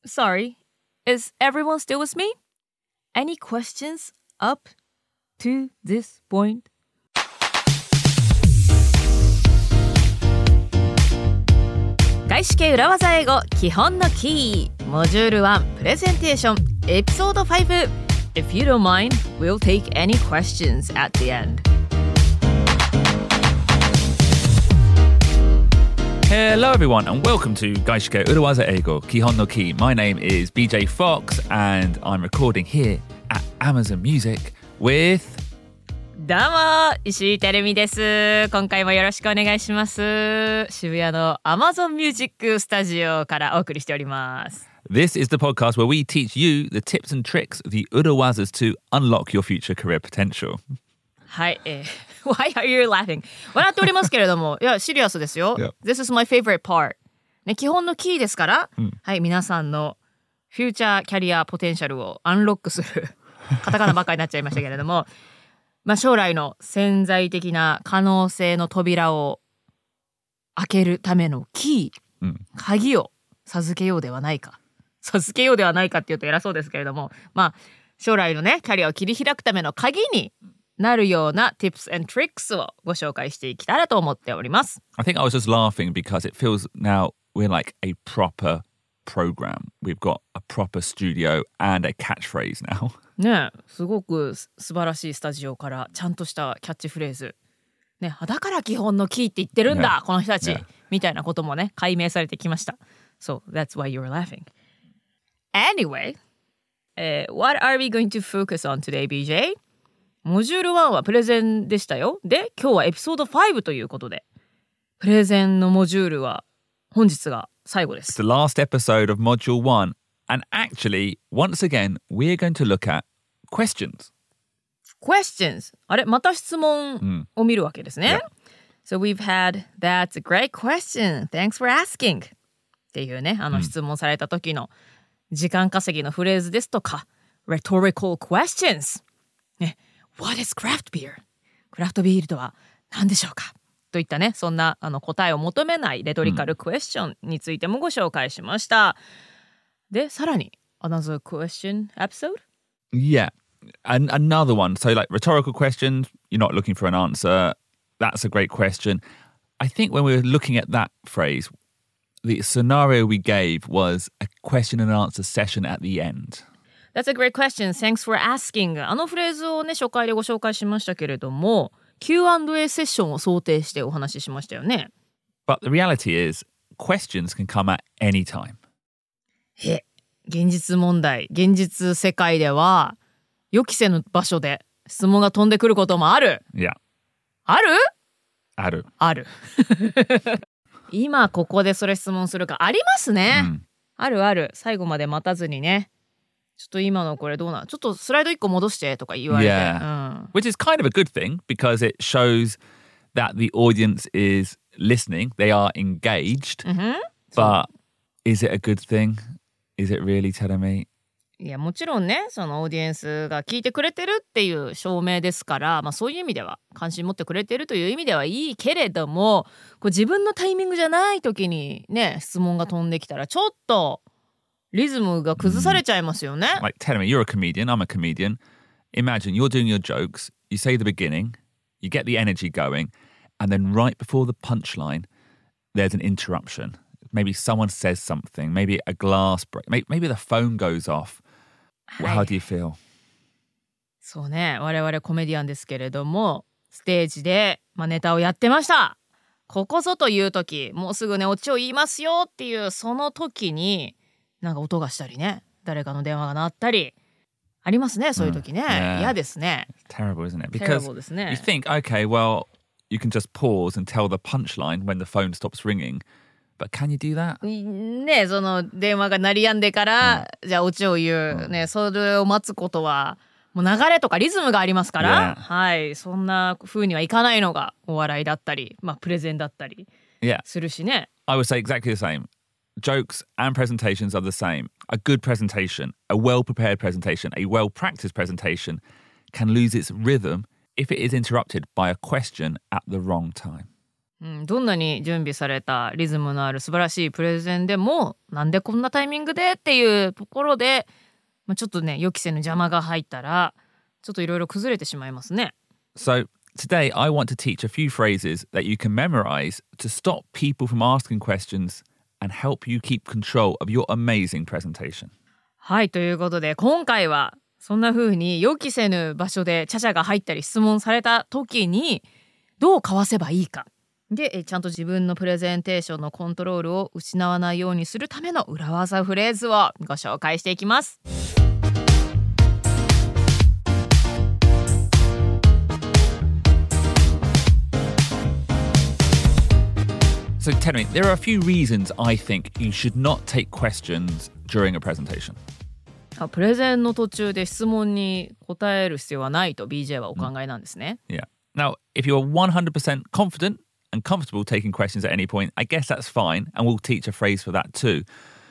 Sorry, is everyone still with me? Any questions up to this point? 外資系裏技英語基本のキーモジュール1プレゼンテーションエピソード5 If you don't mind, we'll take any questions at the end.Hello everyone and welcome to Gaishike Urawaza Eigo Kihon no Ki. My name is BJ Fox and I'm recording here at Amazon Music with... どうも石井てるみです。今回もよろしくお願いします。渋谷の Amazon Music スタジオからお送りしております。 This is the podcast where we teach you the tips and tricks of the Urawazas to unlock your future career potential. はい、Why are you laughing? 笑っておりますけれどもいやシリアスですよ、This is my favorite part、ね、基本のキーですから、はい、皆さんのフューチャーキャリアポテンシャルをアンロックするカタカナばっかりになっちゃいましたけれどもまあ将来の潜在的な可能性の扉を開けるためのキー、鍵を授けようではないかっていうと偉そうですけれどもまあ将来のねキャリアを切り開くための鍵になるような tips and tricks をご紹介していきたらと思っております。 I think I was just laughing because it feels now we're like a proper program. We've got a proper studio and a catchphrase now. ねえ、すごく素晴らしいスタジオからちゃんとしたキャッチフレーズ。ね、だから基本のキーって言ってるんだ、この人たち、みたいなこともね、解明されてきました。So that's why you were laughing. Anyway, what are we going to focus on today, BJ?モジュール1はプレゼンでしたよ。で、今日はエピソード5ということで、プレゼンのモジュールは本日が最後です。 It's the last episode of Module 1. And actually, once again, we're going to look at questions. Questions. あれ、また質問を見るわけですね。So we've had, that's a great question. Thanks for asking. っていうね、質問された時の時間稼ぎのフレーズですとか、rhetorical questions. ね。What is craft beer? クラフトビールとは何でしょうかといったね、そんな答えを求めないレトリカルクエスチョンについてもご紹介しました。で、さらに another question episode? Yeah, and another one. So like rhetorical questions, you're not looking for an answer. That's a great question. I think when we were looking at that phrase, the scenario we gave was a question and answer session at the end.That's a great question. Thanks for asking. フレーズをね、初回でご紹介しましたけれども、Q&A セッションを想定してお話ししましたよね。 But the reality is, questions can come at any time. 現実問題、現実世界では、予期せぬ場所で質問が飛んでくることもある。 Yeah. ある。今ここでそれ質問するかありますね。ある。最後まで待たずにね。ちょっと今のこれどうなのちょっとスライド1個戻してとか言われて、 Which is kind of a good thing because it shows that the audience is listening, they are engaged, but is it a good thing? Is it really telling me? いやもちろんねそのオーディエンスが聞いてくれてるっていう証明ですから、まあ、そういう意味では関心持ってくれてるという意味ではいいけれどもこう自分のタイミングじゃない時にね質問が飛んできたらちょっとリズムが崩されちゃいますよね。 Like, tell me, you're a comedian, I'm a comedian. Imagine you're doing your jokes, you say the beginning, you get the energy going, and then right before the punchline, there's an interruption. Maybe someone says something, maybe a glass break, maybe the phone goes off. How do you feel? そうね、我々コメディアンですけれども、ステージで、ネタをやってました。ここぞという時、もうすぐね、オチを言いますよっていうその時に、なんか音がしたりね誰かの電話が鳴ったりありますねそういう時ね、嫌ですね Terrible, isn't it? Because you think, okay, well, you can just pause and tell the punchline when the phone stops ringing, but can you do that? ねその電話が鳴り止んでから、じゃあオチを言う、ねそれを待つことはもう流れとかリズムがありますから、はいそんな風にはいかないのがお笑いだったり、プレゼンだったりするしね。 I would say exactly the same.Jokes and presentations are the same. A good presentation, a well-prepared presentation, a well-practiced presentation can lose its rhythm if it is interrupted by a question at the wrong time. どんなに準備されたリズムのある素晴らしいプレゼンでもなんでこんなタイミングでっていうところで、ちょっとね予期せぬ邪魔が入ったらちょっといろいろ崩れてしまいますね。 So today I want to teach a few phrases that you can memorize to stop people from asking questions and help you keep control of your amazing presentation. はい、ということで今回はそんな風に予期せぬ場所でチャチャが入ったり質問された時にどうかわせばいいかで、ちゃんと自分のプレゼンテーションのコントロールを失わないようにするための裏技フレーズをご紹介していきます。 So tell me, there are a few reasons I think you should not take questions during a presentation. プレゼンの途中で質問に答える必要はないと BJ はお考えなんですね。 Yeah. Now, if you're 100% confident and comfortable taking questions at any point, I guess that's fine, and we'll teach a phrase for that too.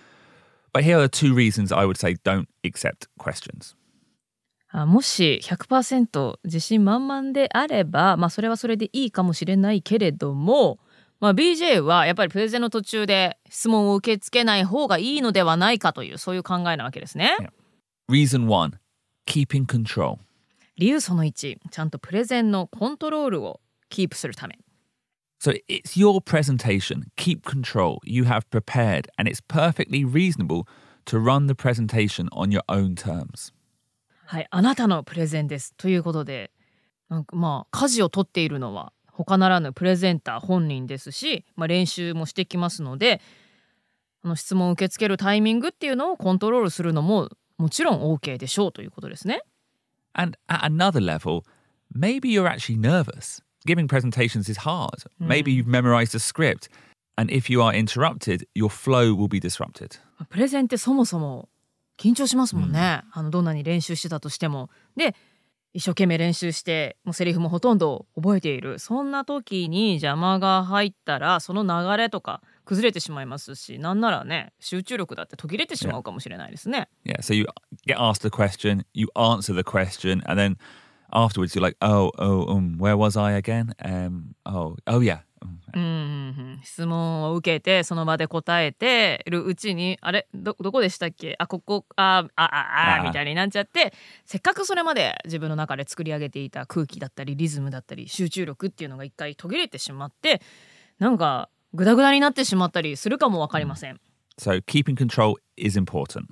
But here are the two reasons I would say don't accept questions. もし 100% 自信満々であれば、それはそれでいいかもしれないけれども、BJ はやっぱりプレゼンの途中で質問を受け付けない方がいいのではないかというそういう考えなわけですね。 Yeah. Reason 1, keeping control. 理由その1、ちゃんとプレゼンのコントロールをキープするため。 So it's your presentation. Keep control. You have prepared, and it's perfectly reasonable to run the presentation on your own terms. はい、あなたのプレゼンですということで、舵を取っているのは他ならぬプレゼンター本人ですし、練習もしてきますので、質問を受け付けるタイミングっていうのをコントロールするのももちろん OK でしょうということですね。 And at another level, maybe you're actually nervous. Giving presentations is hard. Maybe you've memorized a script, and if you are interrupted, your flow will be disrupted. プレゼンってそもそも緊張しますもんね。どんなに練習してたとしても。で、一生懸命練習してもうセリフもほとんど覚えている。そんな時に邪魔が入ったらその流れとか崩れてしまいますし、なんならね集中力だって途切れてしまうかもしれないですね。 Yeah, so you get asked a question, you answer the question, and then afterwards you're like, where was I again? Oh yeah. 質問を受けてその場で答えてるうちにあれ どこでしたっけここみたいになっちゃって、せっかくそれまで自分の中で作り上げていた空気だったりリズムだったり集中力っていうのが一回途切れてしまってなんかグダグダになってしまったりするかもわかりません。 So keeping control is important.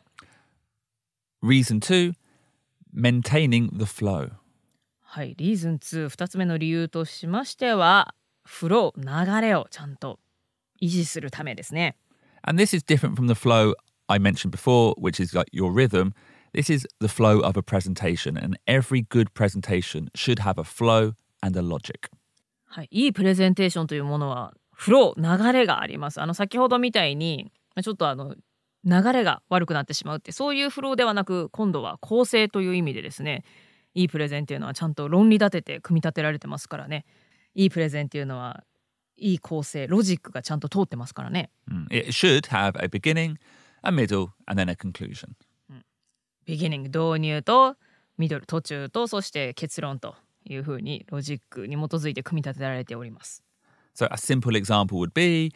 Reason 2, maintaining the flow. はい、リーズン2、2つ目の理由としましてはフロー、流れをちゃんと維持するためですね。 And this is different from the flow I mentioned before, which is like your rhythm. This is the flow of a presentation, and every good presentation should have a flow and a logic. はい、いいプレゼンテーションというものはフロー、流れがあります。先ほどみたいにちょっと流れが悪くなってしまうってそういうフローではなく、今度は構成という意味でですね、いいプレゼンっていうのはちゃんと論理立てて組み立てられてますからね。いいプレゼンっていうのはいい構成、ロジックがちゃんと通ってますからね。 It should have a beginning, a middle, and then a conclusion. beginning 導入とミドル途中とそして結論というふうにロジックに基づいて組み立てられております。 So a simple example would be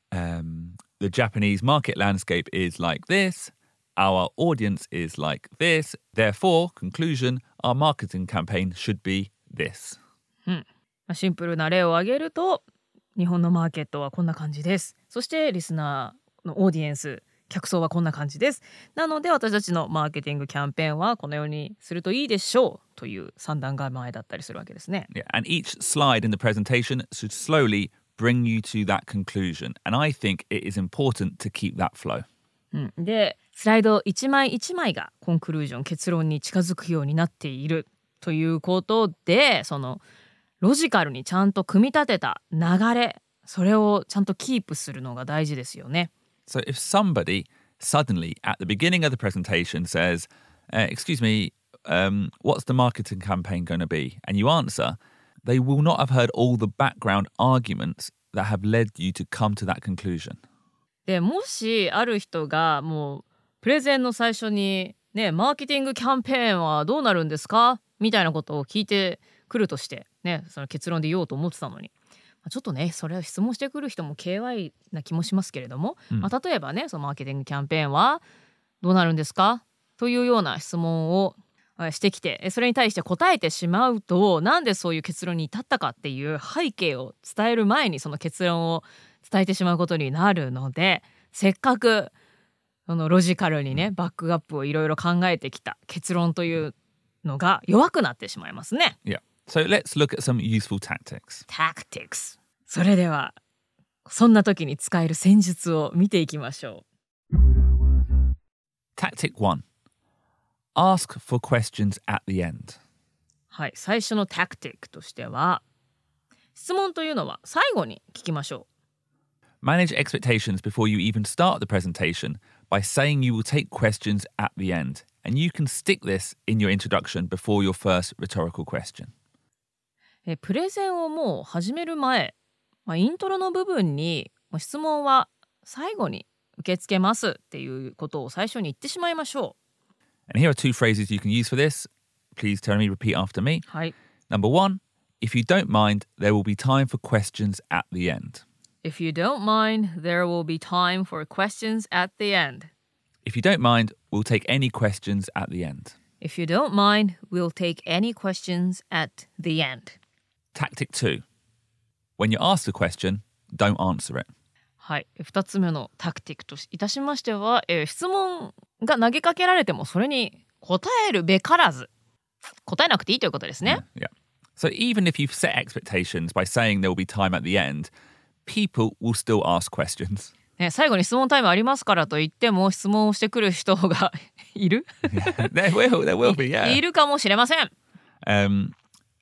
the Japanese market landscape is like this. Our audience is like this. Therefore, conclusion, our marketing campaign should be this. シンプルな例を挙げると、日本のマーケットはこんな感じです。そしてリスナーのオーディエンス、客層はこんな感じです。なので私たちのマーケティングキャンペーンはこのようにするといいでしょうという三段構えだったりするわけですね。 Yeah, and each slide in the presentation should slowly bring you to that conclusion. And I think it is important to keep that flow. で、スライド一枚一枚がコンクルージョン、結論に近づくようになっているということで、そのロジカルにちゃんと組み立てた流れ、それをちゃんとキープするのが大事ですよね。 So if somebody suddenly at the beginning of the presentation says, excuse me, what's the marketing campaign going to be? And you answer, they will not have heard all the background arguments that have led you to come to that conclusion. でもしある人がもうプレゼンの最初にね、マーケティングキャンペーンはどうなるんですかみたいなことを聞いてくるとしてね、その結論で言おうと思ってたのに、 ちょっとねそれを質問してくる人も KY な気もしますけれども、例えばねそのマーケティングキャンペーンはどうなるんですかというような質問をしてきて、それに対して答えてしまうと、なんでそういう結論に至ったかっていう背景を伝える前にその結論を伝えてしまうことになるので、せっかくそのロジカルにねバックアップをいろいろ考えてきた結論というのが弱くなってしまいますね。 Yeah. So let's look at some useful tactics. Tactics。それではそんな時に使える戦術を見ていきましょう。 Tactic 1. Ask for questions at the end. はい、最初の tactic としては、質問というのは最後に聞きましょう。Manage expectations before you even start the presentation by saying you will take questions at the end, and you can stick this in your introduction before your first rhetorical question. プレゼンをもう始める前、イントロの部分に質問は最後に受け付けますっていうことを最初に言ってしまいましょう。 And here are two phrases you can use for this. Please tell me, repeat after me. はい。 Number 1, if you don't mind, there will be time for questions at the end. If you don't mind, there will be time for questions at the end. If you don't mind, we'll take any questions at the end. If you don't mind, we'll take any questions at the end. Tactic 2. When you're asked a question, don't answer it. はい、2つ目のタクティックといたしましては、質問が投げかけられてもそれに答えるべからず、答えなくていいということですね。 Yeah. So even if you've set expectations by saying there will be time at the end, people will still ask questions. ね、最後に質問タイムありますからと言っても質問をしてくる人がいる There will be, yeah. いるかもしれません。 And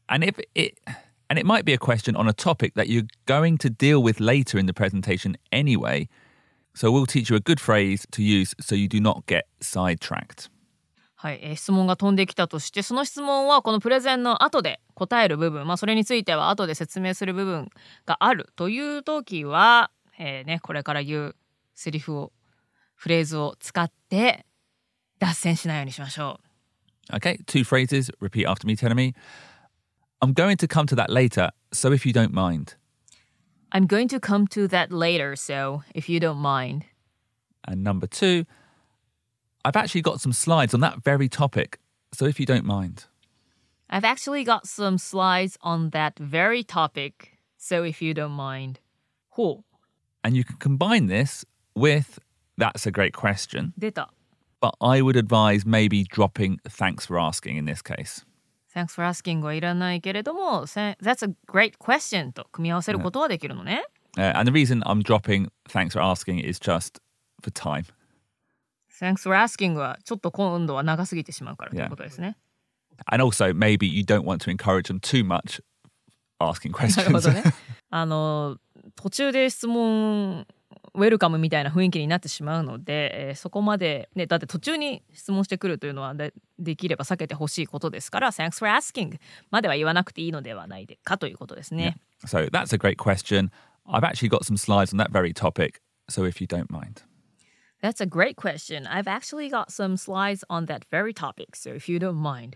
it might be a question on a topic that you're going to deal with later in the presentation anyway. So we'll teach you a good phrase to use so you do not get sidetracked. はい、質問が飛んできたとして、その質問はこのプレゼンの後で答える部分、それについては後で説明する部分があるという時は、これから言うセリフをフレーズを使って脱線しないようにしましょう。Okay, two phrases. Repeat after me, telling me. I'm going to come to that later, so if you don't mind. I'm going to come to that later, so if you don't mind. And number 2, I've actually got some slides on that very topic, so if you don't mind. I've actually got some slides on that very topic, so if you don't mind. ほう。 And you can combine this with, that's a great question. 出た。 But I would advise maybe dropping thanks for asking in this case.Thanks for asking はいらないけれども That's a great question と組み合わせることはできるのね。 And the reason I'm dropping thanks for asking is just for time. Thanks for asking はちょっと今度は長すぎてしまうからということですね。 And also maybe you don't want to encourage them too much asking questions. なるほどね。途中で質問ウェルカムみたいな雰囲気になってしまうので、そこまで、ね、だって途中に質問してくるというのは できれば避けてほしいことですから Thanks for asking までは言わなくていいのではないかということですね。 Yeah. So that's a great question. I've actually got some slides on that very topic, so if you don't mind. That's a great question. I've actually got some slides on that very topic, so if you don't mind.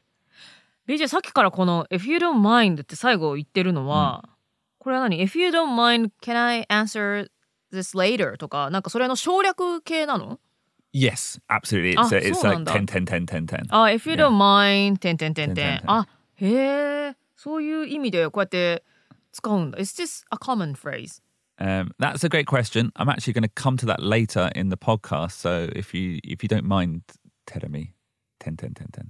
BJ さっきからこの If you don't mind って最後言ってるのは、これは何 If you don't mind, can I answer this later とかなんかそれの省略系なの？ Yes, absolutely. It's like 10, 10, 10, 10, 10. If you don't mind, 10, 10, 10, 10. へえ、そういう意味でこうやって使うんだ。Is this a common phrase? That's a great question. I'm actually going to come to that later in the podcast. So if you don't mind telling me 10, 10, 10,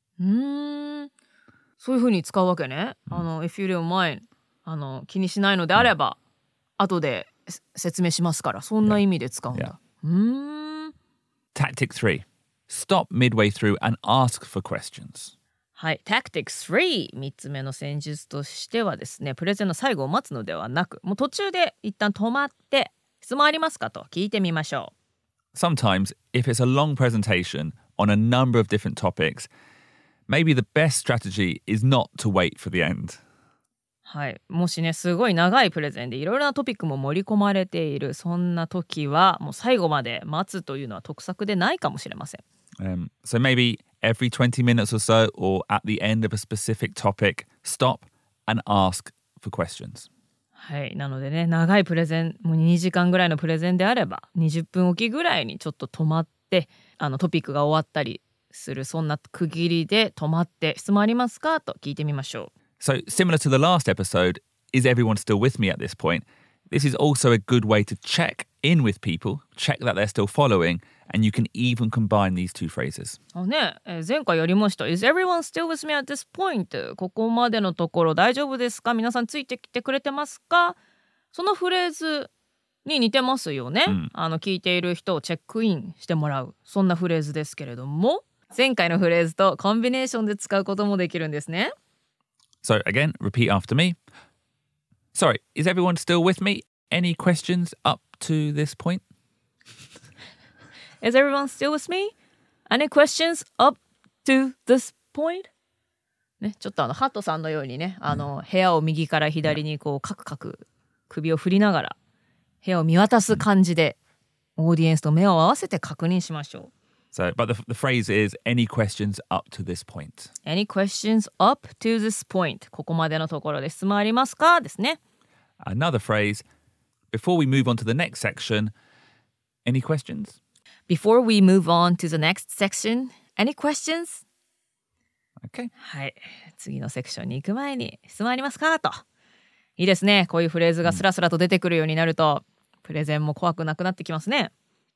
10. そういう風に使うわけね。If you don't mind 気にしないのであれば、後で説明しますから、そんな意味で使うんだ。 Tactic 3. Stop midway through and ask for questions. はい、Tactic 3、3つ目の戦術としてはですね、プレゼンの最後を待つのではなく、もう途中で一旦止まって、質問ありますかと聞いてみましょう。Sometimes, if it's a long presentation on a number of different topics, maybe the best strategy is not to wait for the end. はい、もしね、すごい長いプレゼンでいろいろなトピックも盛り込まれている、そんな時は、もう最後まで待つというのは得策でないかもしれません。 So maybe every 20 minutes or so, or at the end of a specific topic, stop and ask for questions. はい。なのでね、長いプレゼン、もう2時間ぐらいのプレゼンであれば、20分おきぐらいにちょっと止まって、トピックが終わったりする、そんな区切りで止まって、質問ありますかと聞いてみましょう。 So, similar to the last episode, is everyone still with me at this point? This is also a good way to check in with people, check that they're still following, and you can even combine these two phrases. 前回やりました。Is everyone still with me at this point? ここまでのところ大丈夫ですか？皆さんついてきてくれてますか？そのフレーズに似てますよね。聞いている人をチェックインしてもらう。そんなフレーズですけれども、前回のフレーズとコンビネーションで使うこともできるんですね。 So again, repeat after me. Sorry, is everyone still with me? Any questions up to this point? Is everyone still with me? Any questions up to this point? ね、ちょっとハットさんのようにね、部屋を右から左にこうカクカク首を振りながら部屋を見渡す感じでオーディエンスと目を合わせて確認しましょう。 So, but the phrase is any questions up to this point. Any questions up to this point? ここまでのところで質問ありますかですね。 Another phrase, before we move on to the next section, any questions? Before we move on to the next section, any questions? Okay. はい。次のセクションに行く前に質問ありますかと。いいですね。こういうフレーズがスラスラと出てくるようになると、プレゼンも怖くなくなってきますね。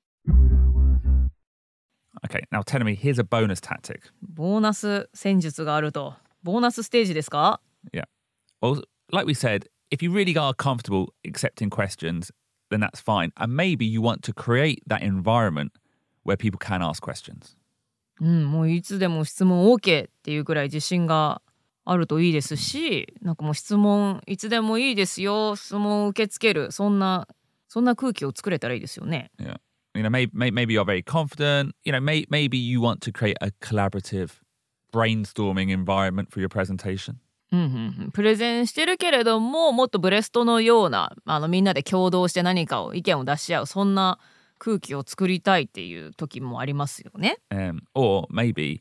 Okay, now tell me, here's a bonus tactic. ボーナス戦術があると。ボーナスステージですか？ Yeah. Well, like we said, if you really are comfortable accepting questions, then that's fine. And maybe you want to create that environment where people can ask questions. もういつでも質問 OK っていうくらい自信があるといいですし、なんかもう質問いつでもいいですよ、質問を受け付ける、そんな空気を作れたらいいですよね。 Yeah. You know, maybe you're very confident. You know, maybe you want to create a collaborative brainstorming environment for your presentation. プレゼンしてるけれども、もっとブレストのようなみんなで共同して何かを意見を出し合う、そんな空気を作りたいっていう時もありますよね。 Or maybe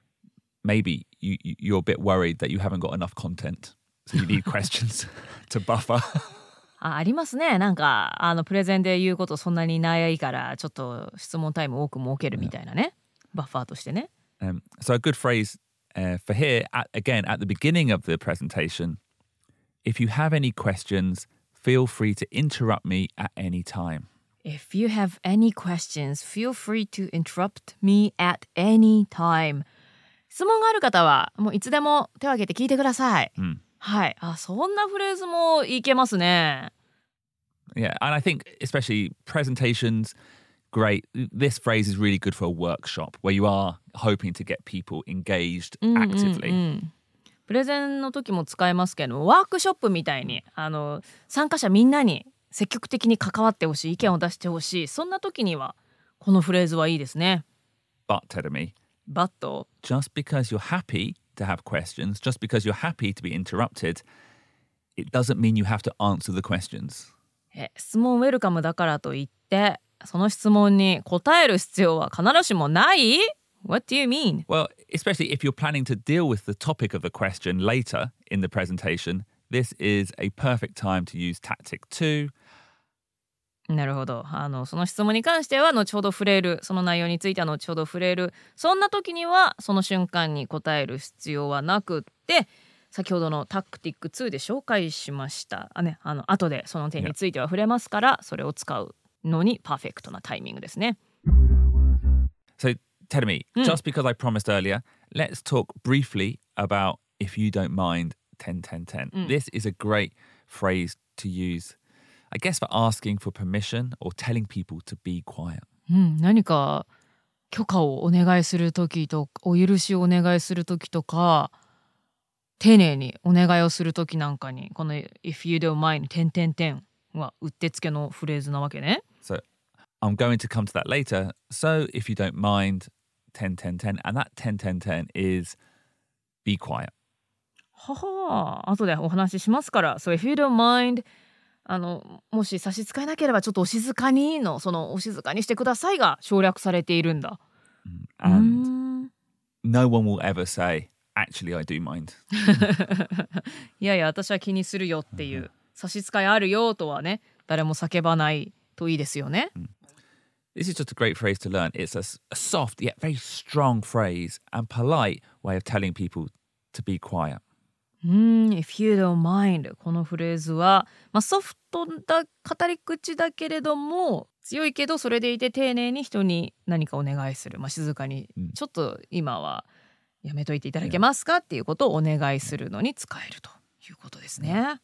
you're a bit worried that you haven't got enough content, so you need questions to buffer. ありますね。なんかプレゼンで言うことそんなにないからちょっと質問タイム多く設けるみたいなね、バッファーとしてね。 So a good phrase for here, again, at the beginning of the presentation, if you have any questions, feel free to interrupt me at any time. If you have any questions, feel free to interrupt me at any time. 質問がある方はもういつでも手を挙げて聞いてください。はい。そんなフレーズもいけますね。 Yeah, and I think especially presentations, great. This phrase is really good for a workshop where you are hoping to get people engaged actively. プレゼンの時も使えますけど、ワークショップみたいに参加者みんなに積極的に関わってほしい、意見を出してほしい、そんな時にはこのフレーズはいいですね。 But tell me, just because you're happy to have questions, just because you're happy to be interrupted, it doesn't mean you have to answer the questions. 質問ウェルカムだからといってその質問に答える必要は必ずしもない？ What do you mean? Well, especially if you're planning to deal with the topic of the question later in the presentation, this is a perfect time to use tactic 2. なるほど。その質問に関しては後ほど触れる、その内容については後ほど触れる、そんな時にはその瞬間に答える必要はなくって、先ほどのタクティック2で紹介しました後でその点については触れますから、それを使うのにパーフェクトなタイミングですね。 So tell me, just because I promised earlier, let's talk briefly about if you don't mind 10-10-10. This is a great phrase to use, I guess, for asking for permission or telling people to be quiet. 何か許可をお願いする時とお許しをお願いする時とか、丁寧にお願いをする時なんかにこの If you don't mind 10-10-10はうってつけのフレーズなわけね。 So I'm going to come to that later. So if you don't mind 10-10-10, and that 10-10-10 is be quiet. はは、後でお話ししますから。So if you don't mind もし差し支えなければちょっとお静かにのそのお静かにしてくださいが省略されているんだ。 And no one will ever say, actually I do mind. いやいや私は気にするよっていう差し支えあるよとはね、誰も叫ばないといいですよね。 This is just a great phrase to learn. It's a soft yet very strong phrase and polite way of telling people to be quiet. If you don't mind このフレーズは、ソフトな語り口だけれども強いけどそれでいて丁寧に人に何かお願いする、静かに、ちょっと今はやめといていただけますかっていうことをお願いするのに使えるということですね。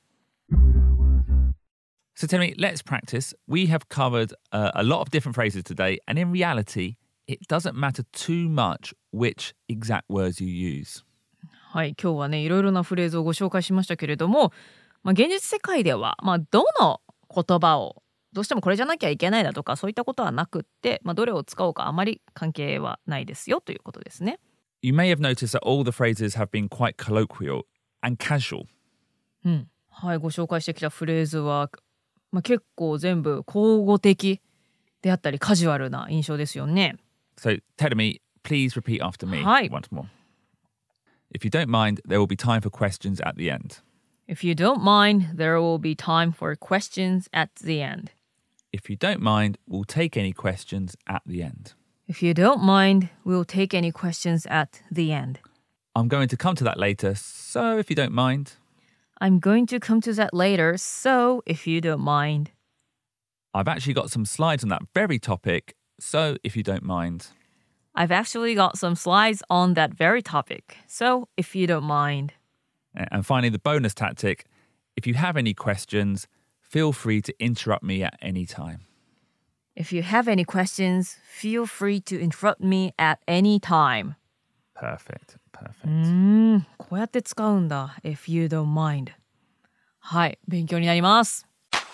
So tell me, let's practice. We have covered a lot of different phrases today, and in reality, it doesn't matter too much which exact words you use. はい、今日はねいろいろなフレーズをご紹介しましたけれども、現実世界では、どの言葉をどうしてもこれじゃなきゃいけないだとかそういったことはなくって、どれを使おうかあまり関係はないですよということですね。 You may have noticed that all the phrases have been quite colloquial and casual. はい、ご紹介してきたフレーズは、結構全部口語的であったりカジュアルな印象ですよね。 So tell me, please repeat after me once more. If you don't mind, there will be time for questions at the end. If you don't mind, there will be time for questions at the end. If you don't mind, we'll take any questions at the end. If you don't mind, we'll take any questions at the end. I'm going to come to that later, so if you don't mind. I'm going to come to that later, so if you don't mind. I've actually got some slides on that very topic, so if you don't mind. I've actually got some slides on that very topic, so if you don't mind. And finally, the bonus tactic. If you have any questions, feel free to interrupt me at any time. If you have any questions, feel free to interrupt me at any time. Perfect. こうやって使うんだ。If you don't mind. はい、勉強になります。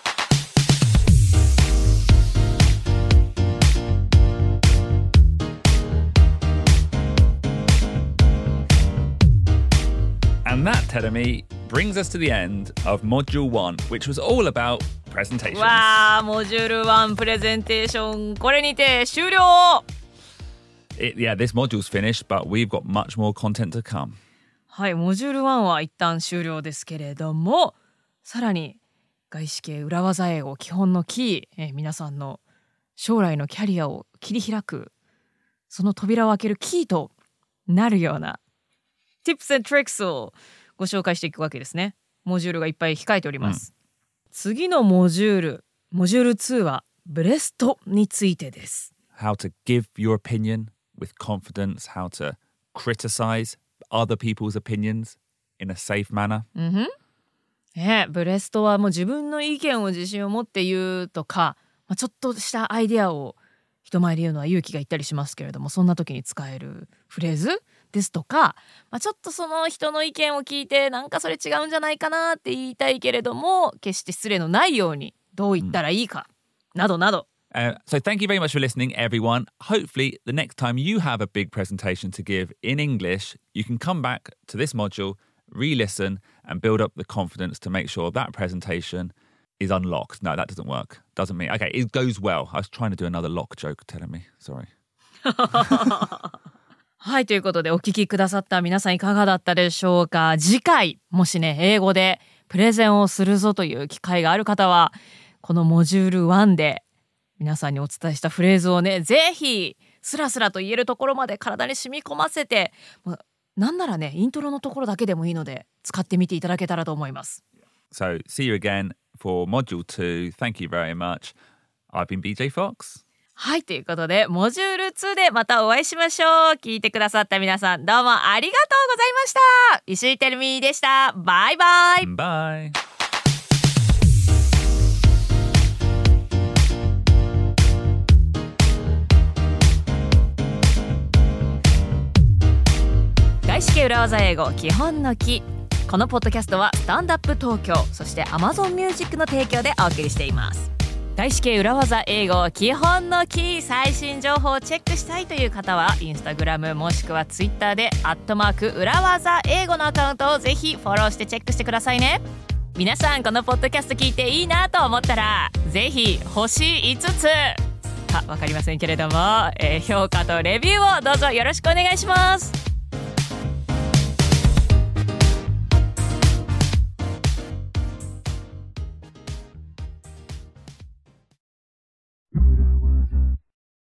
And that, Terumi, brings us to the end of Module 1, which was all about presentations. わー、モジュール1プレゼンテーション、これにて終了。 This module's finished, but we've got much more content to come. はい、モジュール1は一旦終了ですけれども、さらに外資系裏技英語基本のキー、皆さんの将来のキャリアを切り開く、その扉を開けるキーとなるような Tips and Tricks をご紹介していくわけですね。モジュールがいっぱい控えております。次のモジュール2はブレストについてです。 How to give your opinion with confidence, how to criticize other people's opinions in a safe manner. ブレストはもう自分の意見を自信を持って言うとか、ちょっとしたアイデアを人前で言うのは勇気がいったりしますけれども、そんな時に使えるフレーズですとか、ちょっとその人の意見を聞いてなんかそれ違うんじゃないかなって言いたいけれども決して失礼のないようにどう言ったらいいか、などなど。 So thank you very much for listening, everyone. Hopefully, the next time you have a big presentation to give in English, you can come back to this module, re-listen, and build up the confidence to make sure that presentation is unlocked. No, that doesn't work. Doesn't mean... Okay, it goes well. I was trying to do another lock joke, telling me. Sorry. はい、ということでお聞きくださった皆さんいかがだったでしょうか。次回、もしね、英語でプレゼンをするぞという機会がある方は、このモジュール1で皆さんにお伝えしたフレーズをね、ぜひスラスラと言えるところまで体に染み込ませて、なんならね、イントロのところだけでもいいので使ってみていただけたらと思います。 So, see you again for Module 2. Thank you very much. I've been BJ Fox. はい、ということでモジュール2でまたお会いしましょう。聞いてくださった皆さんどうもありがとうございました。石井てるみでした。バイバイ。 バイ。 外資系裏技英語基本のキー。このポッドキャストはスタンダップ東京、そして Amazon Music の提供でお送りしています。外資系裏技英語基本のキー、最新情報をチェックしたいという方はインスタグラムもしくはツイッターで@裏技英語のアカウントをぜひフォローしてチェックしてくださいね。皆さんこのポッドキャスト聞いていいなと思ったらぜひ星5つか分かりませんけれども、評価とレビューをどうぞよろしくお願いします。